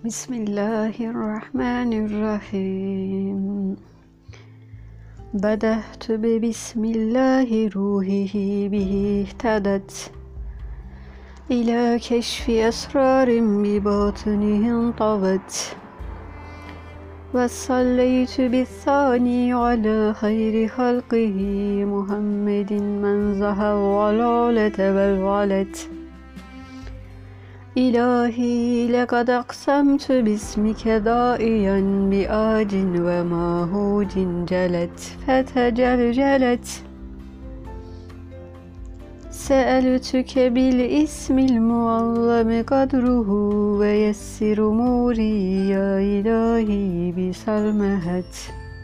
بسم الله الرحمن الرحيم. بدأت ببسم الله روحه به اهتدت إلى كشف أسرار بباطنه انطوت. وصليت بالثاني على خير خلقه محمد من زهى الضلالة والغلت. إلهي لقد أقسمت باسمك داعيا بآج وماهوج جلت فتجلجلت. سألتك بالاسم المعظم قدره ويسر أموري يا إلهي بسلمهت.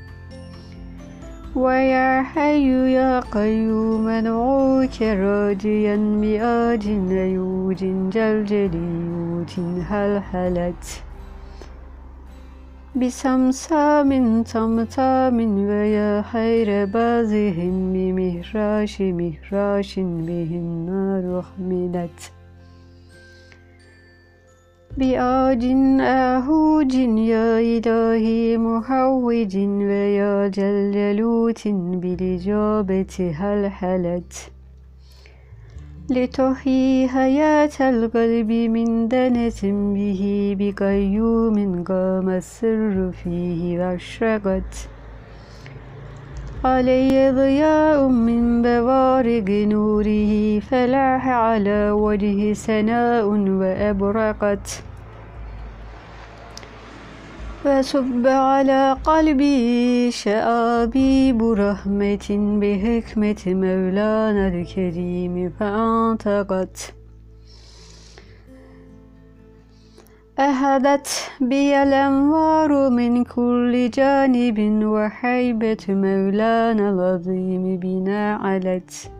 ويا حي يا قيوم أدعوك راجيا بآج أيوج جلجليوت هلهلت. بسمسام طمطام ويا خير بازه بمهراش به النار أحملت. بآج آهوج يا إلهي محوج ويا جلجلوت بالإجابة هلهلت. لتحيي حياة القلب من دنة به بقيوم قام السر فيه واشرقت. علي ضياء من بوارق نوره فلاح على وجه سناء وأبرقت. وصب على قلبي شآبيب رحمة بحكمة مولانا الكريم فأنطقت. أهدت بي الأنوار من كل جانب وحيبة مولانا العظيم بنا علت.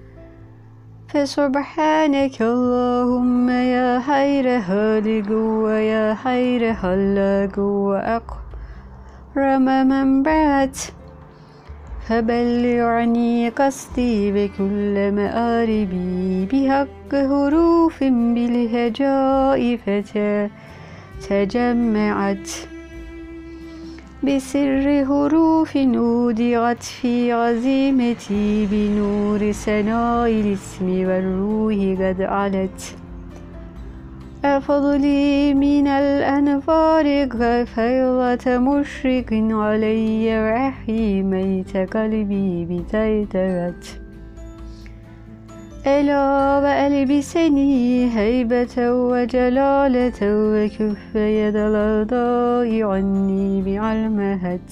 فسبحانك اللهم يا خير خالق ويا خير خلاق وأكرم من بعث. فبلغني قصدي بكل مآربي بحق حروف بالهجاء فتجمعت. بسر حروف أودعت في عزيمتي بنور سناء الاسم والروح قد علت. أفضلي من الأنفار فيضة مشرق علي وحي ميت قلبي بتيترت. ألا وألبسني هيبة وجلالة وكف يد الأعداء عني بعلمهت.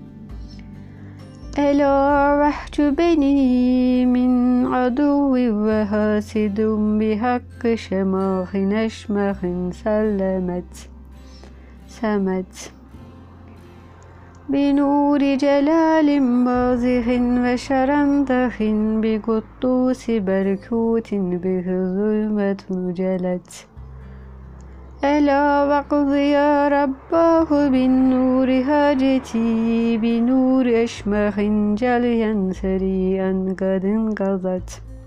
ألا واحجبني من عدو وحاسد بحق شماخ نشمخ سمت. بنور جلال بازخ وشرندخ بقدوس بركوت به ظلمة جلت. ألا واقض يا رباه بالنور حاجتي بنور أشمخ جليا سريعا قد انقضت.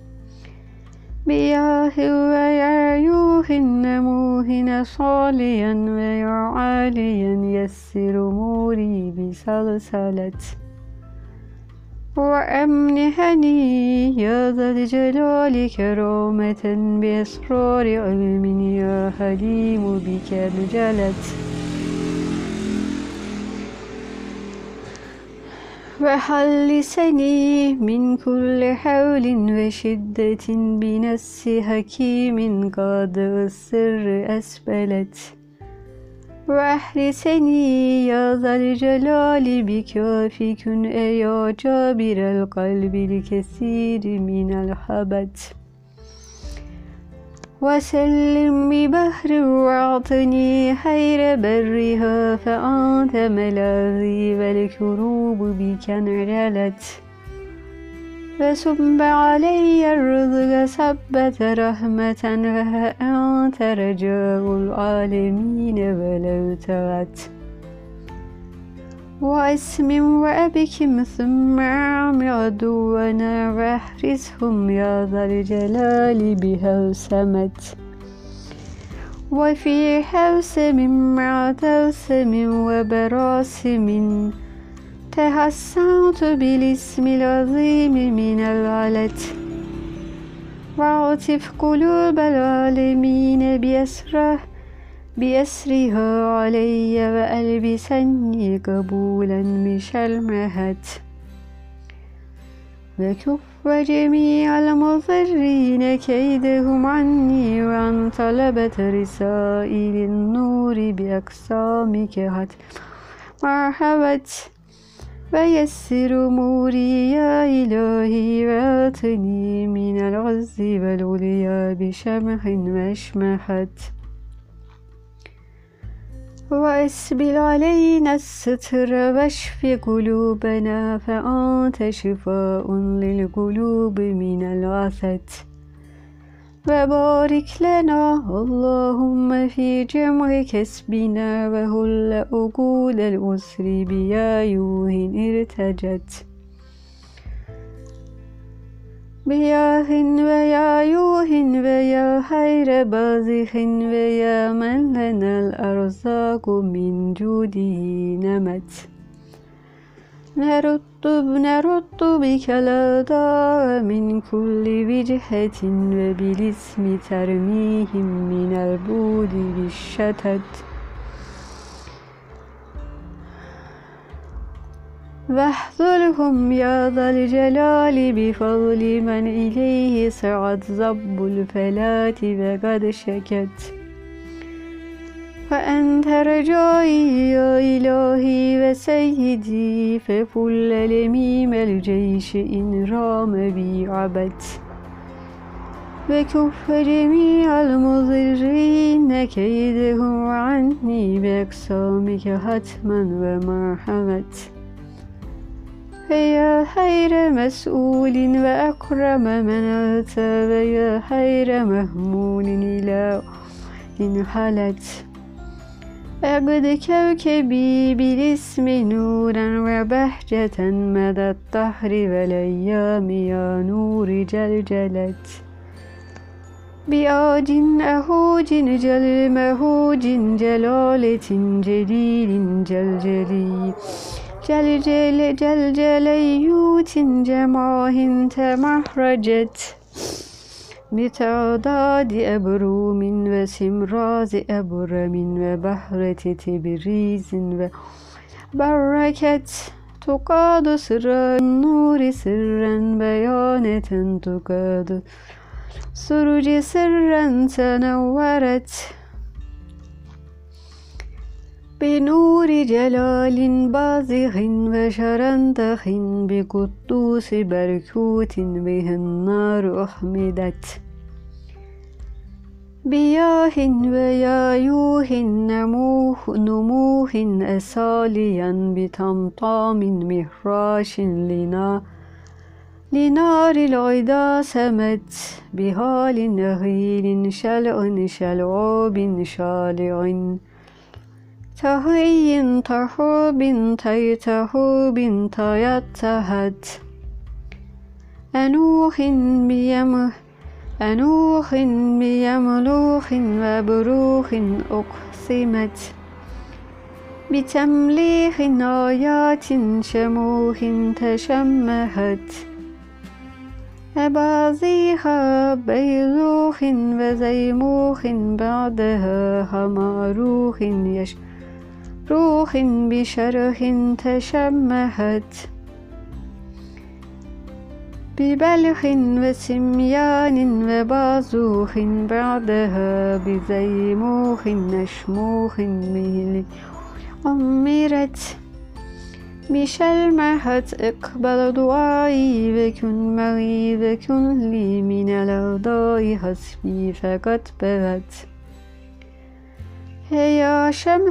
بياه ويا يوه نموه صاليا ويا عاليا يسر أموري بسلسلت. وأمنحني يا ذا الجلال كرامة بأسرار علم يا حليم بك انجلت. وحلسني من كل حول وشدة بنس حكيم قادر السر أسبلت. وأحرسني يا ذا الجلال بكافك يا جابر القلب الكثير من الحبت. وسلم ببحر واعطني خير برها فأنت ملاذي والكروب بك انعلت. وصب علي الرزق سبة رحمة فأنت رجاء العالمين ولو تغت. واسم وأبكم ثم أعم عدونا واحرسهم يا ذا الجلال بهوسمت. وفي حوسم مع توسم وبراسم تحسنت بالاسم العظيم من العلت وعطف قلوب العالمين بأسرها علي وألبسني قبولا بشلمهت وكف جميع المضرين كيدهم عني وعن طلبة رسائل النور بأقسامك هت مرحبت ويسر أموري يا إلهي واعطني من العز والعليا بشمح واشمحت وأسبل علينا الستر واشف قلوبنا فأنت شفاء للقلوب من العثت وبارك لنا اللهم في جمع كسبنا وهل أقول الأسر بيايوه ارتجت بياه ويايوه ويا خير بازخ ويا من لنا الأرزاق من جوده نمت نرد بك الأعداء من كل وجهة وبالاسم ترميهم من البعد بالشتت واحذرهم يا ذا الجلال بفضل من إليه سعت ضب الفلاة وقد شكت وأنت رجائي يا إلهي وسيدي ففل لميم الجيش إن رام بي عبت وكف جميع المضرين كيدهم عني بأقسامك حتما ومرحمت فيا خير مسؤول وأكرم من أتى ويا خير مهمول إلى إن حلت أقد كوكبي بالاسم نورا وبهجة مدى الدهر والأيام يا نور جلجلت بآج أهوج جل مهوج جلالة جليل جلجلي جلجليوت جماه تمحرجت بتعداد أبروم وسمراز أبرم وبحرة تبريز وبركت تقاد سر النور سرا بيانة تقاد سرج سرا تنورت بنور جلال بازغ وشرندخ بقدوس بركوت به النار أحمدت بياه ويايوه نموه أساليا بطمطام مهراش لنار العدا سمت بهال نغيل شلع شلعاب شالع تهي تحوب تيتهوب تيتهت أنوخ بيملوخ وبروخ أقسمت بتمليخ آيات شموخ تشمهت أبازيها بيزوخ وزيموخ بعدها هماروخ روح بشرح تشمهت ببلخ وسميان وبازوخ بعدها بزيموخ نشموخ مهل أمرت بشلمهت اقبل دعائي وكن معي وكن لي من الأعداء حسبي فقد بغت يا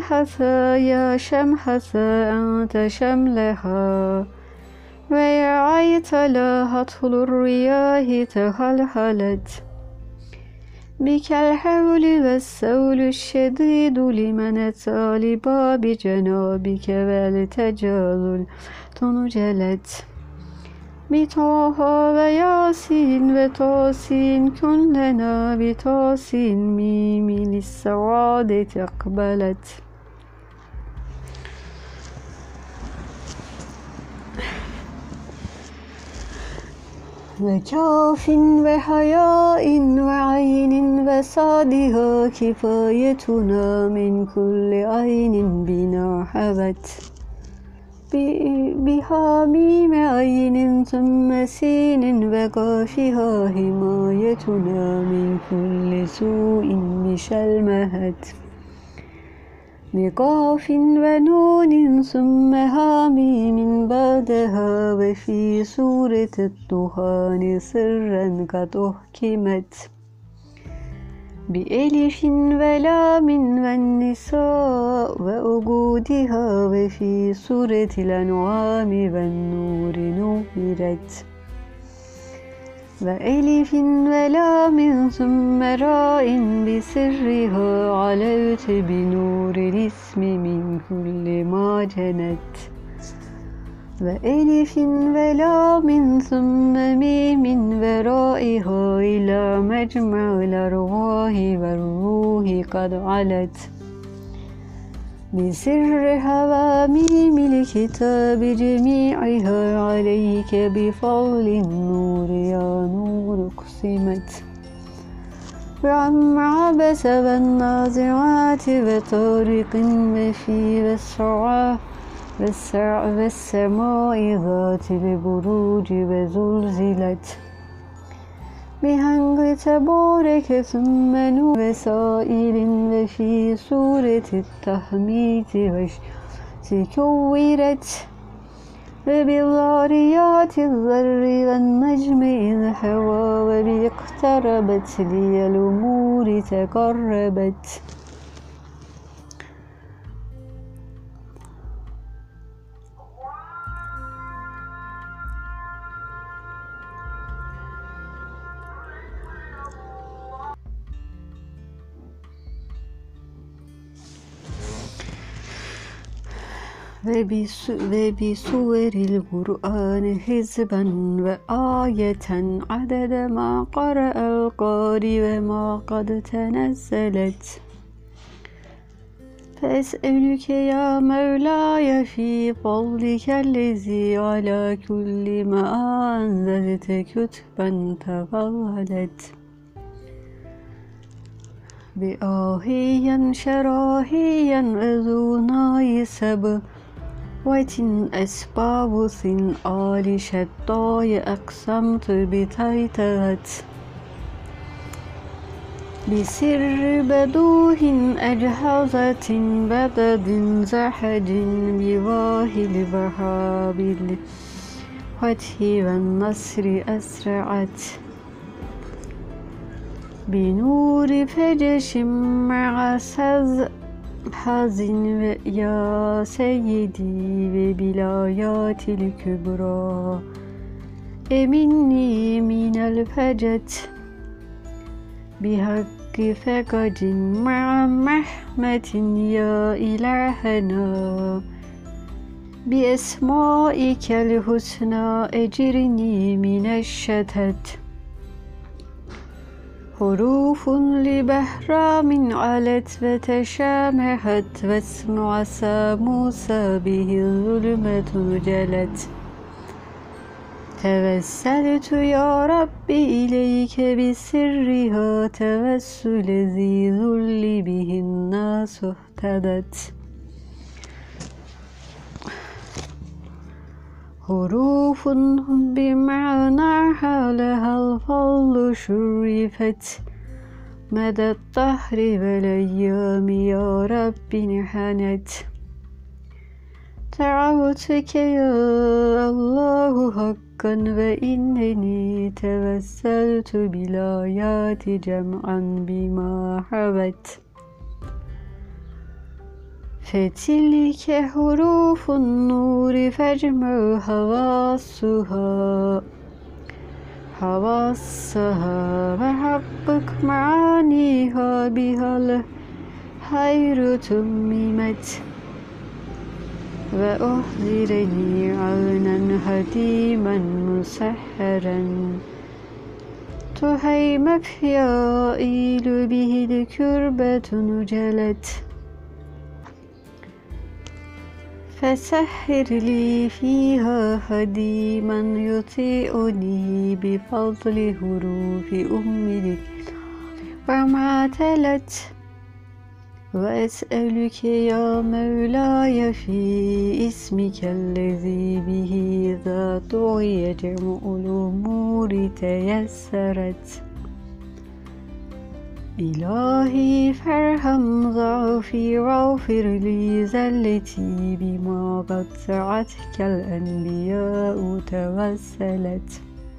شمحة أنت شملها ويا عيطلا هطل الرياح تخلخلت بك الحول والسول الشديد لمن أتى لباب جنابك والتجاذل تنجلت بطه وياسين وتاسين كلنا بتاسين ميم للسعادة أقبلت وكاف وحياء وعين وصادها كفايتنا من كل عين بنا حبت بحاميم عين ثم سين وقافها حمايتنا من كل سوء بشلمهت بقاف ونون ثم هاميم بعدها وفي سورة الطحان سرا قد أحكمت بألف ولام والنساء وأجودها وفي سورة الأنعام والنور نورت وألف ولام ثم راء بسرها علوت بنور الاسم من كل ما جنت وألف ولام ثم ميم ورائها إلى مجمع الأرواح والروح قد علت بسر حواميم الكتاب جميعها عليك بفضل النور يا نور اقسمت وعم عبس والنازعات وطارق وفي والسماء ذات البروج وزلزلت بهنگ تبارك ثم نور وسائل وفي سورة التحميد كورت وبالذاريات الذر والنجم إذ هوى وباقتربت لي الأمور تقربت وبسور القرآن حزبا وآية عدد ما قرأ القارئ وما قد تنزلت فأسألك يا مولاي في فضلك الذي على كل ما أنزلت كتبا تفضلت بآهيا شراهيا أذوناي سبب أسبابث آل شداي أقسمت بتيتغت بسر بدوه أجهزة بدد زحج بواه البهاب الفتح والنصر أسرعت بنور فجش مع حزن يا سيدي وبلايات الكبرى مني من الفجت بحق فقد مع محمة يا إلهنا بأسمائك الحسنى أجرني من الشتت حروف لبهرام علت وتشامخت واسم عسى موسى به الظلمة جلت توسلت يا ربي إليك بسرها توسل ذي ذل به الناس اهتدت حروف بمعناها لها الفضل شرفت مدى الدهر والأيام يا رب انحنت دعوتك يا الله حقا وإنني توسلت بالآيات جمعا بما حوت فتلك حروف النور فاجمع حواسها وحقق معانيها بها الخير تممت وأحضرني عونا هديما مسحرا تهيم فيائيل به الكربة نجلت فسحر لي فيها هديما يطيعني بفضل حروف أم وما تلت وأسألك يا مولاي في اسمك الذي به إذا طغي جمع الأمور تيسرت إلهي فارحم ضعفي واغفر لي زلتي بما قطعتك الأنبياء توسلت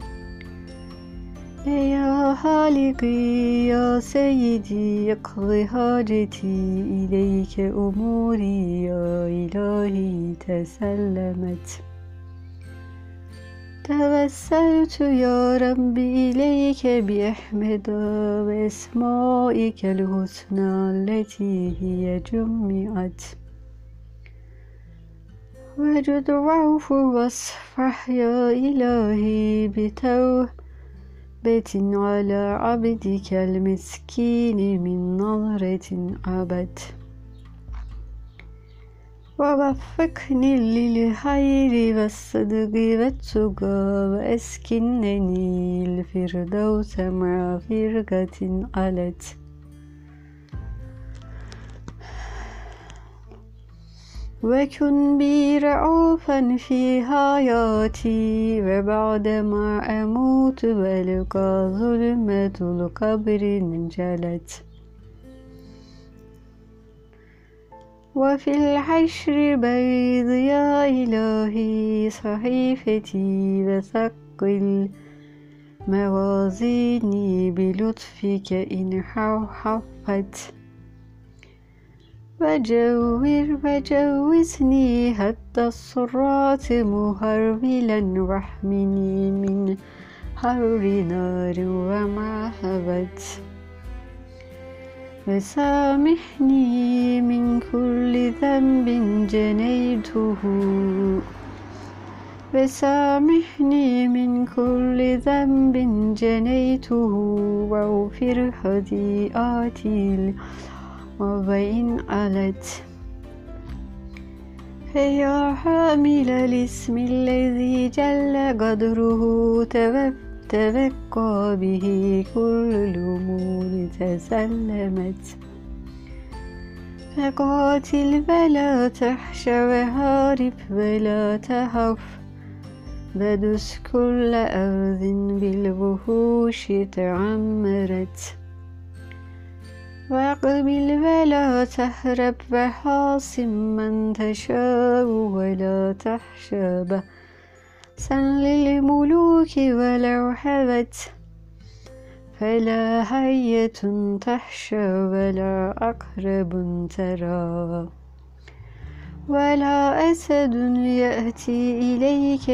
يا خالقي يا سيدي اقض حاجتي إليك أموري يا إلهي تسلمت توسلت يا ربي إليك بأحمد وأسمائك الحسنى التي هي جمعت وجد واعف واصفح يا إلهي بتوبة على عبدك المسكين من نظرة عبد ووفقني للخير والصدق والتقى وأسكنني الفردوس مع فرقة علت وكن بي رعوفا في حياتي وبعدما أموت والقى ظلمة القبر انجلت وفي الحشر بيض يا إلهي صحيفتي وثقل موازيني بلطفك إن حفت وجوزني حتى الصراط مهرولا واحمني من حر نار وما هبت وسامحني من كل ذنب جنيته واغفر خطيئاتي وإن علت فيا حامل الاسم الذي جل قدره تبقى به كل الأمور تسلمت فقاتل ولا تحش وهارب ولا تهف ودس كل أرض بالوحوش تعمرت واقبل ولا تهرب وحاصم من تشاء ولا تحشى بأسا للملوك ولو حبت فلا حية تحشى ولا عقرب ترى ولا أسد يأتي إليك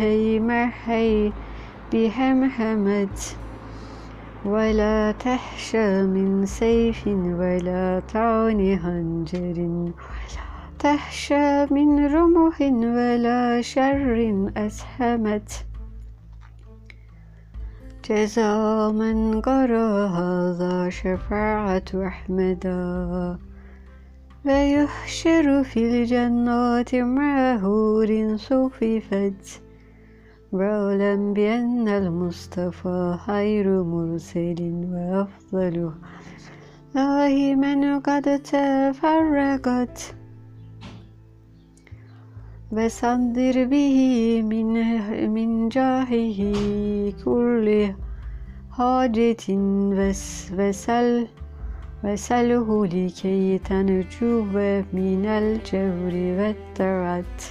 بهمهمة ولا تحشى من سيف ولا طعن خنجر ولا تحشى من رمح ولا شر أسهمت جزاء من قرأ هذا شفاعة أحمدا ويحشر في الجنات مع حور صففت واعلم بأن المصطفى خير مرسل وأفضل الله من قد تفرقت وصدر به من جاهه كل حاجة وسله لكي تنجو من الجور والترت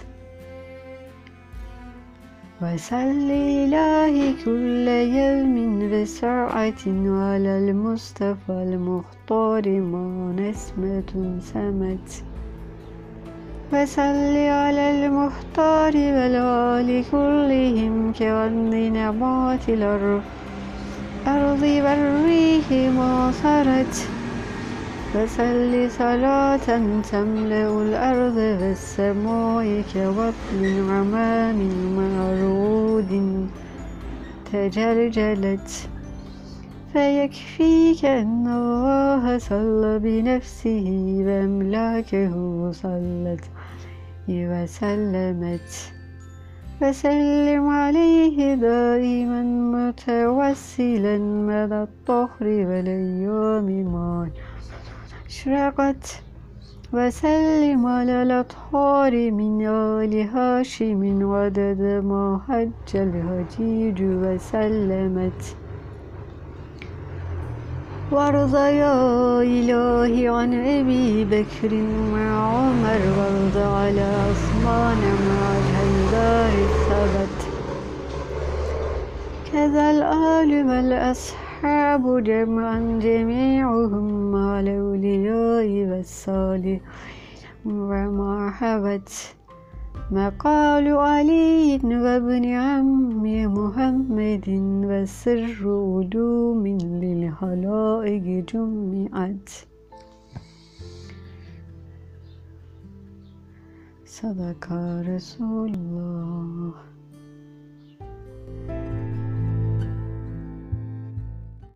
وصل إلهي كل يوم بسرعة على المصطفى المختار ما نسمة سمت وصل على المختار والآل كلهم كغن نبات الأرض والريح ما سرت وصل صلاة تملأ الأرض والسماء كوابل عمام معروض تجلجلت فيكفيك أن الله صلى بنفسه وأملاكه صلت وسلمت وسلم عليه دائما متوسلا مدى الطهر والأيام ما أشرقت وسلم على الأطهار من آل هاشم عدد ما حج الحجيج وسلمت وارض يا إلهي عن أبي بكر مع عمر وارض على عثمان مع الهيدار الثبت كذا الآل والأصحاب جمعا جميعهم مع الأولياء والصالحين وما حوت مقال علي وابن عم محمد وسر علوم للخلائق جمعت. صدق رسول الله.